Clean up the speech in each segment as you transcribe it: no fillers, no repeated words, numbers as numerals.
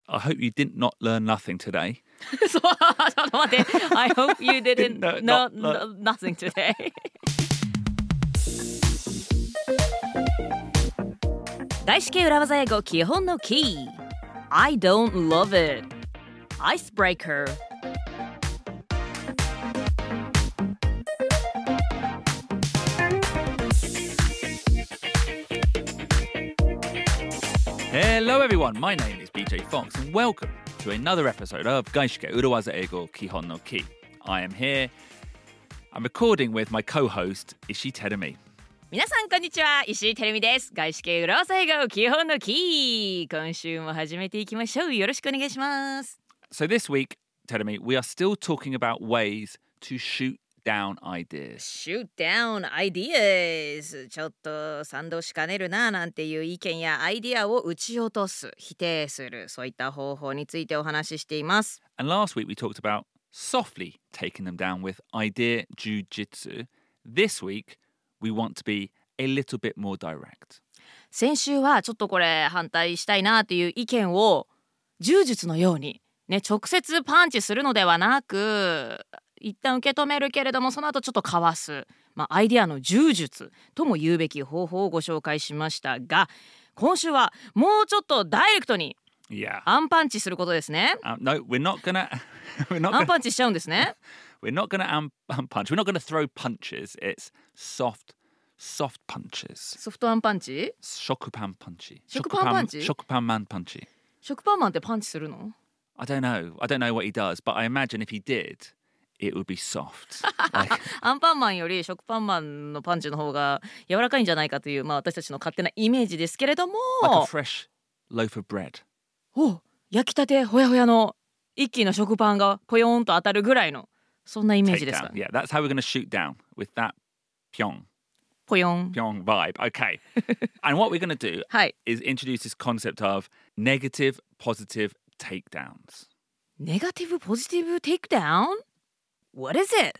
I hope you did not learn nothing today. そう、ちょっと待って。I hope you didn't No, know nothing today. 外資系裏技英語基本のキー。I don't love it. Icebreaker. Hello everyone, my name is BJ Fox and welcome to another episode of 外資系裏技英語基本のキー。I am here. I'm recording with my co-host, Ishii Terumi. 皆さんこんにちは、石井てるみです。外資系裏技英語基本のキー。今週も始めていきましょう。よろしくお願いします。 So this week, Terumi, we are still talking about ways to shoot down ideas. Shoot down ideas. ちょっと賛同しかねるななんていう意見やアイディアを撃ち落とす、否定する、そういった方法についてお話ししています。 And last week we talked about softly taking them down with idea jujitsu. This week we want to be a little bit more direct. 先週はちょっとこれ反対したいなっていう意見を柔術のようにね、直接パンチするのではなく、一旦受け止めるけれどもその後ちょっとかわす、アイデアの柔術とも言うべき方法をご紹介しましたが、今週はもうちょっとダイレクトにアンパンチすることですね。 No, we're not gonna アンパンチしちゃうんですね。 We're not gonna punch. We're not gonna throw punches. It's soft punches. ソフトアンパンチ？ 食パンパンチ。 食パンパンチ？ 食パンマンパンチ。 食パンマンってパンチするの？ I don't know what he does, but I imagine if he did,It would be soft. アンパンマンより食パンマンのパンチの方が柔らかいんじゃないかという、私たちの勝手なイメージですけれども、 like a fresh loaf of bread. 焼きたてほやほやの一気の食パンがポヨーンと当たるぐらいのそんなイメージですか。 Yeah, that's how we're going to shoot down with that pyong ポヨン vibe. Okay. And what we're going to do はい。 is introduce this concept of negative, positive takedowns. ネガティブポジティブテイクダウン？What is it?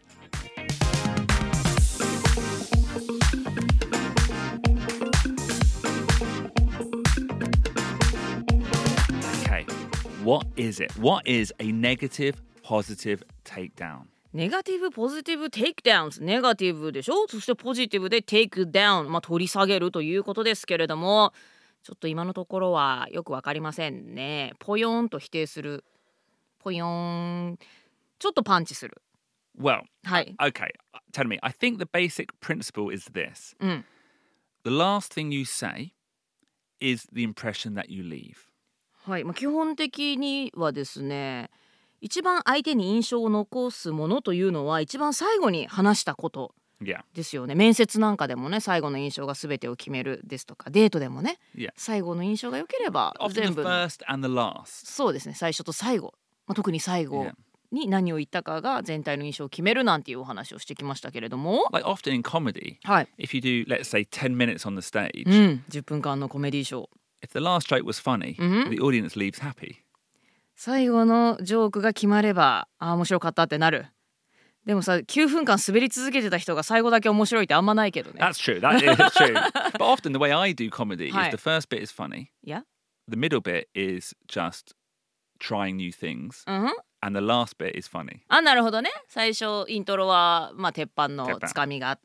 Okay, what is it? What is a negative, positive takedown? ネガティブポジティブテイクダウン、ネガティブでしょ。そしてポジティブでテイクダウン、取り下げるということですけれども、ちょっと今のところはよくわかりませんね。ポヨンと否定する、ポヨン、ちょっとパンチする。 Well, はい。 okay, tell me. I think the basic principle is this. The last thing you say is the impression that you leave. はい、基本的にはですね、一番相手に印象を残すものというのは一番最後に話したことですよね。面接なんかでもね、最後の印象が全てを決めるですとか、デートでもね、最後の印象が良ければ全部。 Often the first and the last. そうですね、最初と最後、特に最後。に何を言ったかが全体の印象を決めるなんていうお話をしてきましたけれども、 Like often in comedy, はい、 if you do, let's say, 10 minutes on the stage, 10分間のコメディショー、 if the last joke was funny, the audience leaves happy. 最後のジョークが決まれば、面白かったってなる。でもさ、9分間滑り続けてた人が最後だけ面白いってあんまないけどね。 That's true, that is true. But often the way I do comedy is the first bit is funny, the middle bit is just trying new things.And the last bit is funny. なるほどね。最初イントロは鉄板のつかみがあって、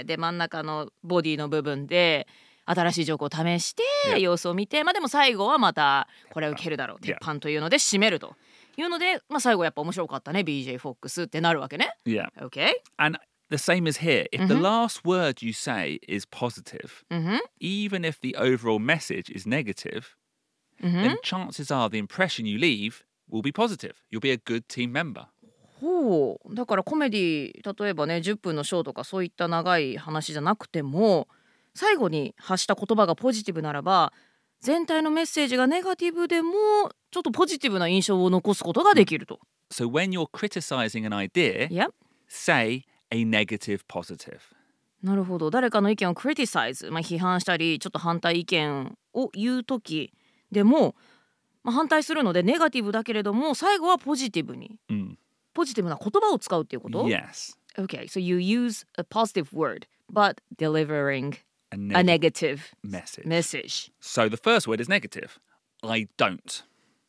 で真ん中のボディの部分で新しいジョークを試して様子を見て、でも最後はまたこれを受けるだろう、鉄板というので締めるというので、最後やっぱ面白かったね BJ フォックスってなるわけね。 Yeah. Okay. And the same is here. If the last word you say is positive, even if the overall message is negative, then chances are the impression you leave.will be positive. You'll be a good team member. だからコメディ、例えばね10分のショーとかそういった長い話じゃなくても、最後に発した言葉がポジティブならば、全体のメッセージがネガティブでもちょっとポジティブな印象を残すことができると。 So when you're criticizing an idea, say a negative positive. なるほど。誰かの意見を criticize、批判したりちょっと反対意見を言うときでも、反対するのでネガティブだけれども最後はポジティブに、ポジティブな言葉を使うっていうこと？ Yes. Okay, so you use a positive word but delivering a negative message. So the first word is negative. I don't.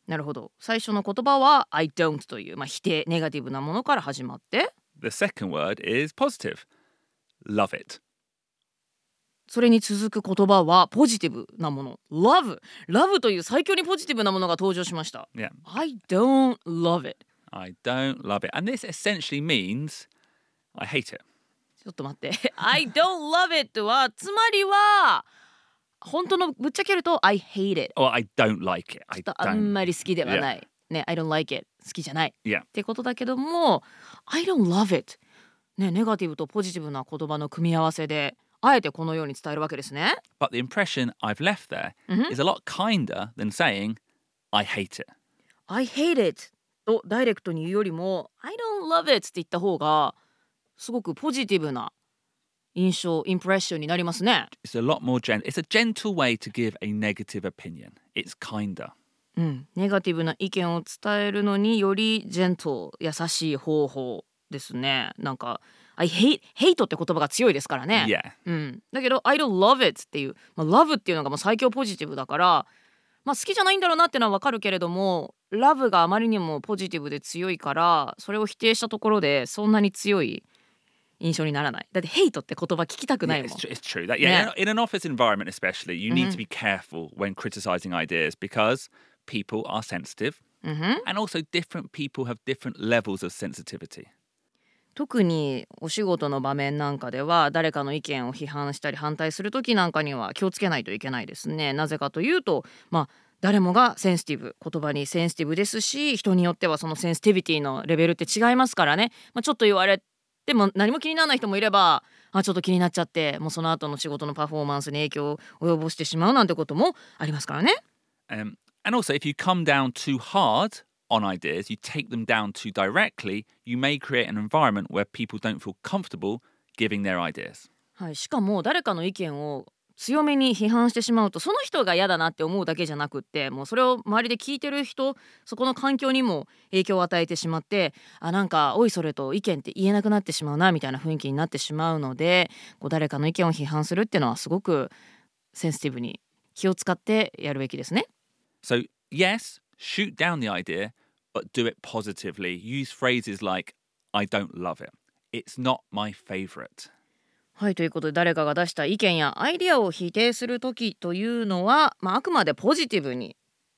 なるほど。最初の言葉は I don't という、否定、ネガティブなものから始まって、 The second word is positive. Love it. それに続く言葉はポジティブなもの Love という最強にポジティブなものが登場しました。 Yeah. I don't love it. I don't love it. And this essentially means I hate it. ちょっと待って。I don't love it はつまりは本当のぶっちゃけると I hate it. Or I don't like it. ちょっとあんまり好きではない。ね、I don't like it. 好きじゃない。 Yeah. ってことだけども I don't love it. ね、ネガティブとポジティブな言葉の組み合わせであえてこのように伝えるわけですね。 But the impression I've left there is a lot kinder than saying I hate it. I hate it とダイレクトに言うよりも I don't love it って言った方がすごくポジティブな印象、インプレッションになりますね。 It's a lot more gentle. It's a gentle way to give a negative opinion. It's kinder. ネガティブな意見を伝えるのによりジェントル、優しい方法ですね。なんかI hate って言葉が強いですからね。 Yeah. だけど I don't love it っていう、love っていうのがもう最強ポジティブだから、好きじゃないんだろうなってのはわかるけれども、love があまりにもポジティブで強いから、それを否定したところでそんなに強い印象にならない。だって hate って言葉聞きたくないもん。 It's true. That, in an office environment especially, you need to be careful when criticizing ideas because people are sensitive. And also different people have different levels of sensitivity. 特にお仕事の場面なんかでは誰かの意見を批判したり反対する時なんかには気をつけないといけないですね。なぜかというと、誰もがセンシティブ、言葉にセンシティブですし、人によってはそのセンシティビティのレベルって違いますからね。ちょっと言われても何も気にならない人もいれば、ちょっと気になっちゃってもうその後の仕事のパフォーマンスに影響を及ぼしてしまうなんてこともありますからね。 And also if you come down too hard on ideas, you take them down too directly, you may create an environment where people don't feel comfortable giving their ideas. はい、しかも誰かの意見を強めに批判してしまうと、その人が嫌だなって思うだけじゃなくって、もうそれを周りで聞いてる人、そこの環境にも影響を与えてしまって、なんかおいそれと意見って言えなくなってしまうなみたいな雰囲気になってしまうので、誰かの意見を批判するっていうのはすごくセンシティブに気を使ってやるべきですね。 So yes, shoot down the idea.But do it positively. Use phrases like, I don't love it. It's not my favorite. はい、ということで誰かが出した意見やアイディアを否定するときというのは、あくまでポジティブに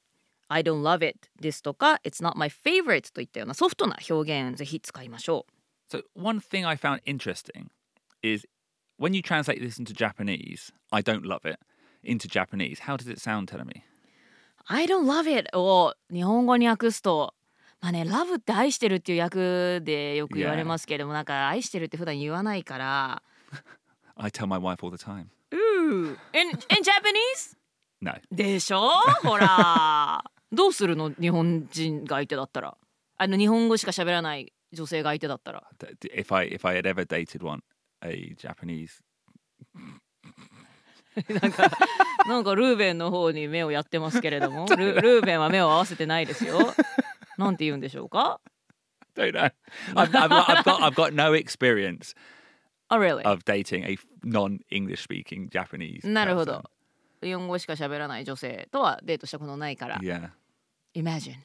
I don't love it ですとか It's not my favorite といったようなソフトな表現ぜひ使いましょう。So one thing I found interesting is when you translate this into Japanese, I don't love it, into Japanese, how does it sound, Telemi?I don't love it を日本語に訳すと、ラブって愛してるっていう訳でよく言われますけれども、なんか愛してるって普段言わないから。 I tell my wife all the time. In Japanese? No. でしょほら。どうするの日本人が相手だったら。日本語しか喋らない女性が相手だったら。 If I had ever dated a Japanese なんかルーベンの方に目をやってますけれどもルーベンは目を合わせてないですよ。なんて言うんでしょうか。 Don't know. I've got no experience really? of dating a non-English speaking Japanese. なるほど。日本語しか喋らない女性とはデートしたことないから。 Yeah. Imagine.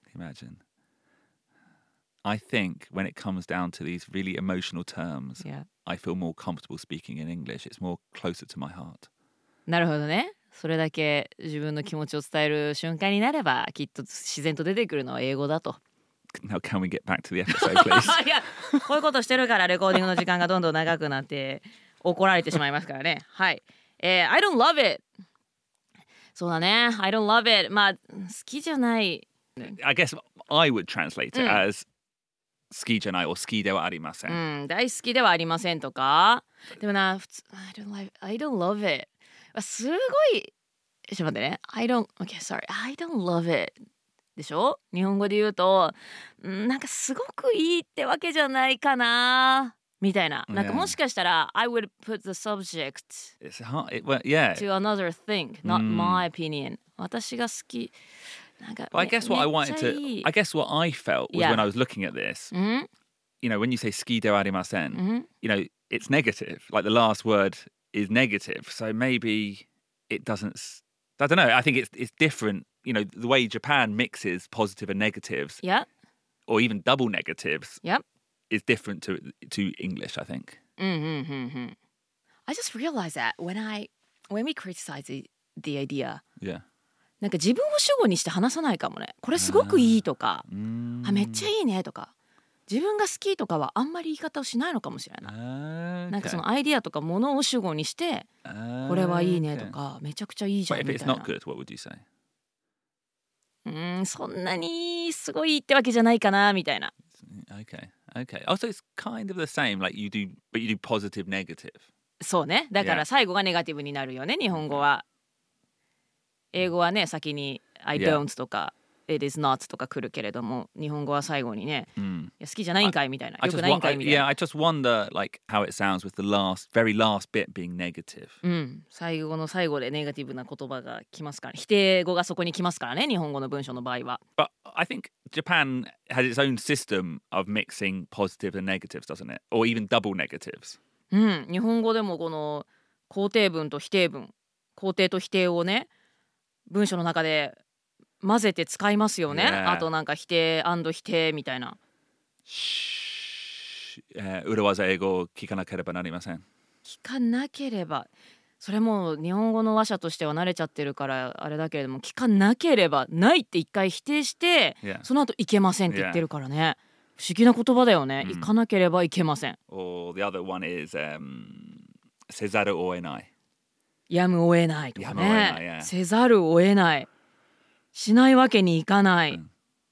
I think when it comes down to these really emotional terms, yeah. I feel more comfortable speaking in English. It's more closer to my heart. なるほどね。それだけ自分の気持ちを伝える瞬間になればきっと自然と出てくるのは英語だと。 Now can we get back to the episode, please? いや、こういうことしてるからレコーディングの時間がどんどん長くなって怒られてしまいますからね。はい。I don't love it. そうだね。I don't love it. 好きじゃない。 I guess I would translate it as 好きじゃないor好きではありません。 大好きではありませんとか。でもな、普通 I don't love it。すごいちょっと待ってね。I don't love it でしょ。日本語で言うとなんかすごくいいってわけじゃないかなみたいな。なんかもしかしたら I would put the subject to another thing, not my opinion. 私が好きなんか But I guess what I felt was when I was looking at this, you know, when you say 好きではありません, you know, it's negative. Like the last word is negative. So maybe it doesn't, I don't know. I think it's different you know, the way Japan mixes positive and negatives, Yeah. or even double negatives, Yep. is different to English, I think. I just realized that when we criticize the idea, Yeah. なんか自分を主語にして話さないかもね。これすごくいいとか、めっちゃいいねとか、自分が好きとかはあんまり言い方をしないのかもしれない。なんかそのアイディアとかものを主語にして、これはいいねとか、めちゃくちゃいいじゃん But み if た it's い not な。 good, what would you say? そんなにすごいってわけじゃないかなみたいな。 Okay. Also, it's kind of the same. Like you do, but you do positive, negative. そうね。だから Yeah. 最後がネガティブになるよね、日本語は。英語はね、先に I Yeah. don't とか It is not とか来るけれども、日本語は最後にね、いや好きじゃないんかいみたいな、よくないんかいみたいな。 I just wonder like how it sounds with the very last bit being negative. 最後の最後でネガティブな言葉が来ますから、否定語がそこに来ますからね、日本語の文章の場合は。 But I think Japan has its own system of mixing positive and negatives, doesn't it? Or even double negatives. 日本語でもこの肯定文と否定文、肯定と否定をね、文章の中で混ぜて使いますよね。 Yeah. あとなんか否定&否定みたいな。 裏技英語を聞かなければなりません。 聞かなければ、それも日本語の話者としては慣れちゃってるからあれだけれども、聞かなければないって一回否定して、 Yeah. その後いけませんって言ってるからね。不思議な言葉だよね。行かなければいけません。 Or the other one is せざるを得ない。 やむを得ないとかやむを得ないね。 yeah. せざるを得ない。しないわけにいかない。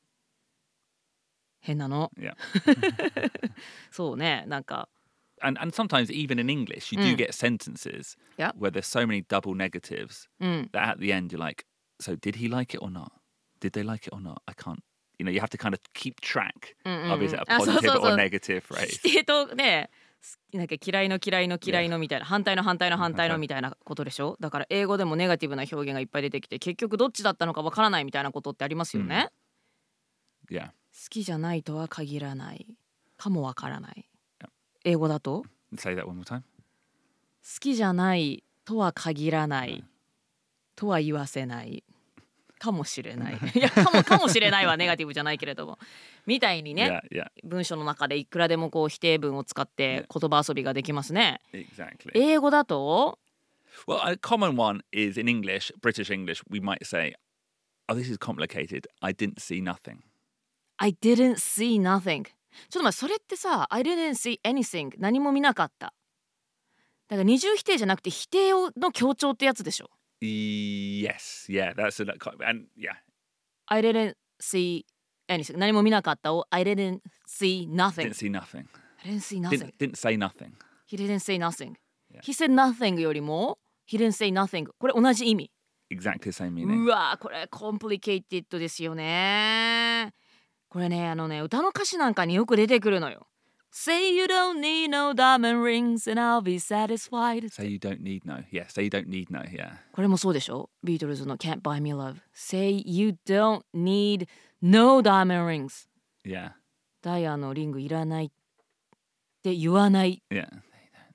変なの。 Yeah. そうね、なんか。 And sometimes even in English, you do get sentences Yep. where there's so many double negatives that at the end you're like, so did he like it or not? Did they like it or not? I can't. You know, you have to kind of keep track of is it a そう positive そうそう or negative phrase. 否定とね、なんか嫌いの嫌いの嫌いのみたいな、反対の反対の反対のみたいなことでしょ。だから英語でもネガティブな表現がいっぱい出てきて、結局どっちだったのかわからないみたいなことってありますよね。 Yeah. 好きじゃないとは限らないかもわからない。英語だと Say that one more time. 好きじゃないとは限らないとは言わせないかもしれない。いやかもしれないはネガティブじゃないけれどもみたいにね、 Yeah. 文章の中でいくらでもこう否定文を使って言葉遊びができますね。 Exactly. 英語だと Well, a common one is in English, British English, we might say, oh, this is complicated. I didn't see nothing. I didn't see nothing。 ちょっと待って、それってさ I didn't see anything 何も見なかった。だから二重否定じゃなくて否定の強調ってやつでしょ。 Yes. Yeah, that's and yeah. I didn't see anything 何も見なかったを I didn't see nothing Didn't see nothing. I didn't see nothing Didn't say nothing. He didn't say nothing Yeah. He said nothing よりも He didn't say nothing これ同じ意味。 Exactly the same meaning. うわーこれコンプリケイティッドですよね。これね歌の歌詞なんかによく出てくるのよ。 Say you don't need no diamond rings and I'll be satisfied Say you don't need no. Yeah, say you don't need no. Yeah. これもそうでしょ。ビートルズの Can't Buy Me Love Say you don't need no diamond rings Yeah. ダイヤのリングいらないって言わない。 Yeah. They don't need no.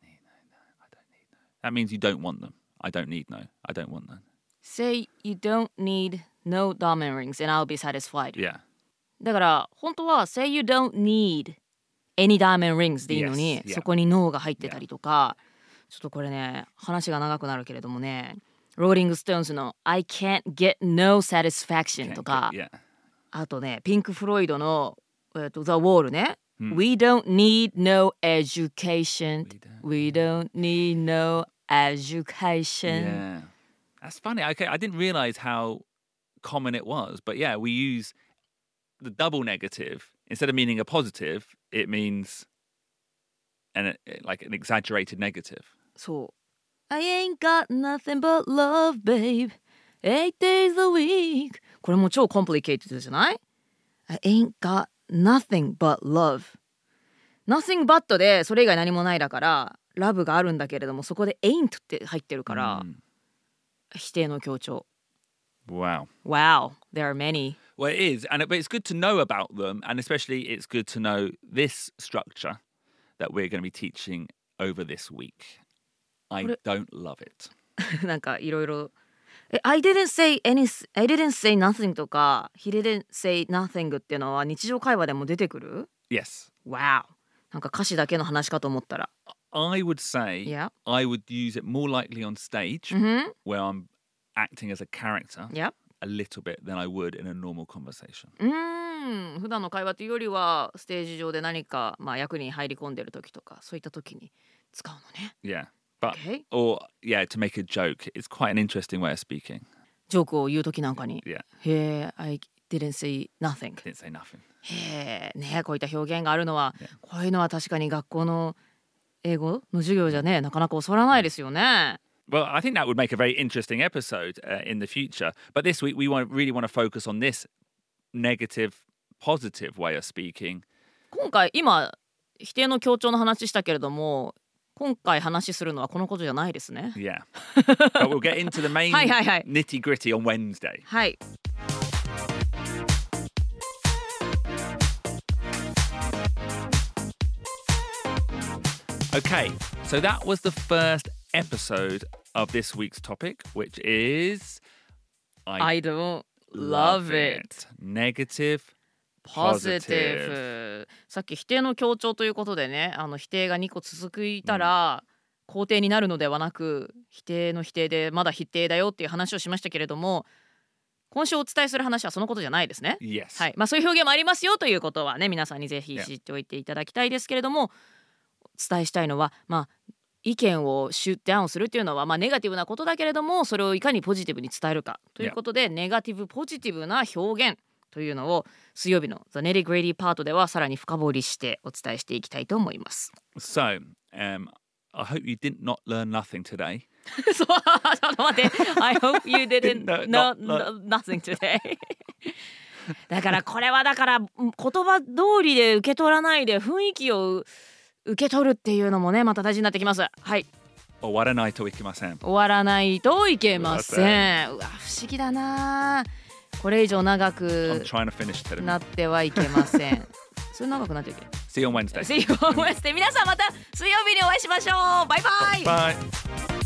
I don't need no. That means you don't want them. I don't need no. I don't want them. Say you don't need no diamond rings and I'll be satisfied Yeah. だから本当は Say you don't need any diamond rings でいいのに、 Yes, yeah. そこに no が入ってたりとか、ちょっとこれね話が長くなるけれどもね、ローリングストーンズの I can't get no satisfaction とか、 Yeah. あとねピンク・フロイドの、The Wall ね、We don't need no education We don't need no education Yeah. That's funny. Okay, I didn't realize how common it was, but yeah, we use the double negative instead of meaning a positive. It means like an exaggerated negative. そう I ain't got nothing but love, babe 8 days a week これも超コンプリケイティドじゃない I ain't got nothing but love Nothing but でそれ以外何もないだからラブがあるんだけれどもそこで ain't って入ってるから、否定の強調。 Wow. Wow, there are many. Well, it is, but it's good to know about them, and especially it's good to know this structure that we're going to be teaching over this week. I don't love it. なんかいろいろ I didn't say nothing とか He didn't say nothing っていうのは日常会話でも出てくる？ Yes. Wow. なんか歌詞だけの話かと思ったら。 I would say Yeah. I would use it more likely on stage where I'm acting as a character Yeah. a little bit than I would in a normal conversation. 普段の会話というよりはステージ上で何か、役に入り込んでる時とかそういった時に使うのね。 Yeah. But Okay. or yeah, to make a joke, it's quite an interesting way of speaking. ジョークを言う時なんかに。 Yeah. へえ、I didn't say nothing. Didn't say nothing. へえ、ね、こういった表現があるのは、 Yeah. こういうのは確かに学校の英語の授業じゃね、なかなか教わらないですよね。 Well, I think that would make a very interesting episode in the future. But this week, we really want to focus on this negative, positive way of speaking. 今回今否定の強調の話したけれども、今回話するのはこのことじゃないですね。 Yeah. But we'll get into the main はいはいはい。 nitty gritty on Wednesday. はい。 Okay, so that was the first episode of this week's topic, which is I don't love it. Negative, positive. さっき否定の強調ということでね、否定が2個続いたら、肯定になるのではなく、否定の否定でまだ否定だよっていう話をしましたけれども、今週お伝えする話はそのことじゃないですね。 Yes. はい。そういう表現もありますよということはね、皆さんにぜひ知っておいていただきたいですけれども、お伝えしたいのは、意見をシュッダウンするっていうのは、ネガティブなことだけれども、それをいかにポジティブに伝えるかということで、ネガティブポジティブな表現というのを水曜日の The Nitty Gritty パートではさらに深掘りしてお伝えしていきたいと思います。 So, I hope you did not learn nothing today. そう、ちょっと待って。I hope you didn't No, know nothing today. だからこれは言葉通りで受け取らないで雰囲気を受け取るっていうのもね、また大事になってきます。はい。 終わらないといけません。 終わらないといけません。うわ、不思議だな。これ以上長く I'm trying to finish なってはいけません。それ長くなっていけ。 See you on Wednesday. See you on Wednesday. 皆さんまた水曜日にお会いしましょう。バイバイ。 Bye.